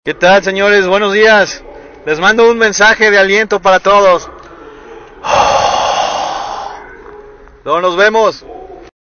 ¿Qué tal, señores? Buenos días. Les mando un mensaje de aliento para todos. Luego nos vemos.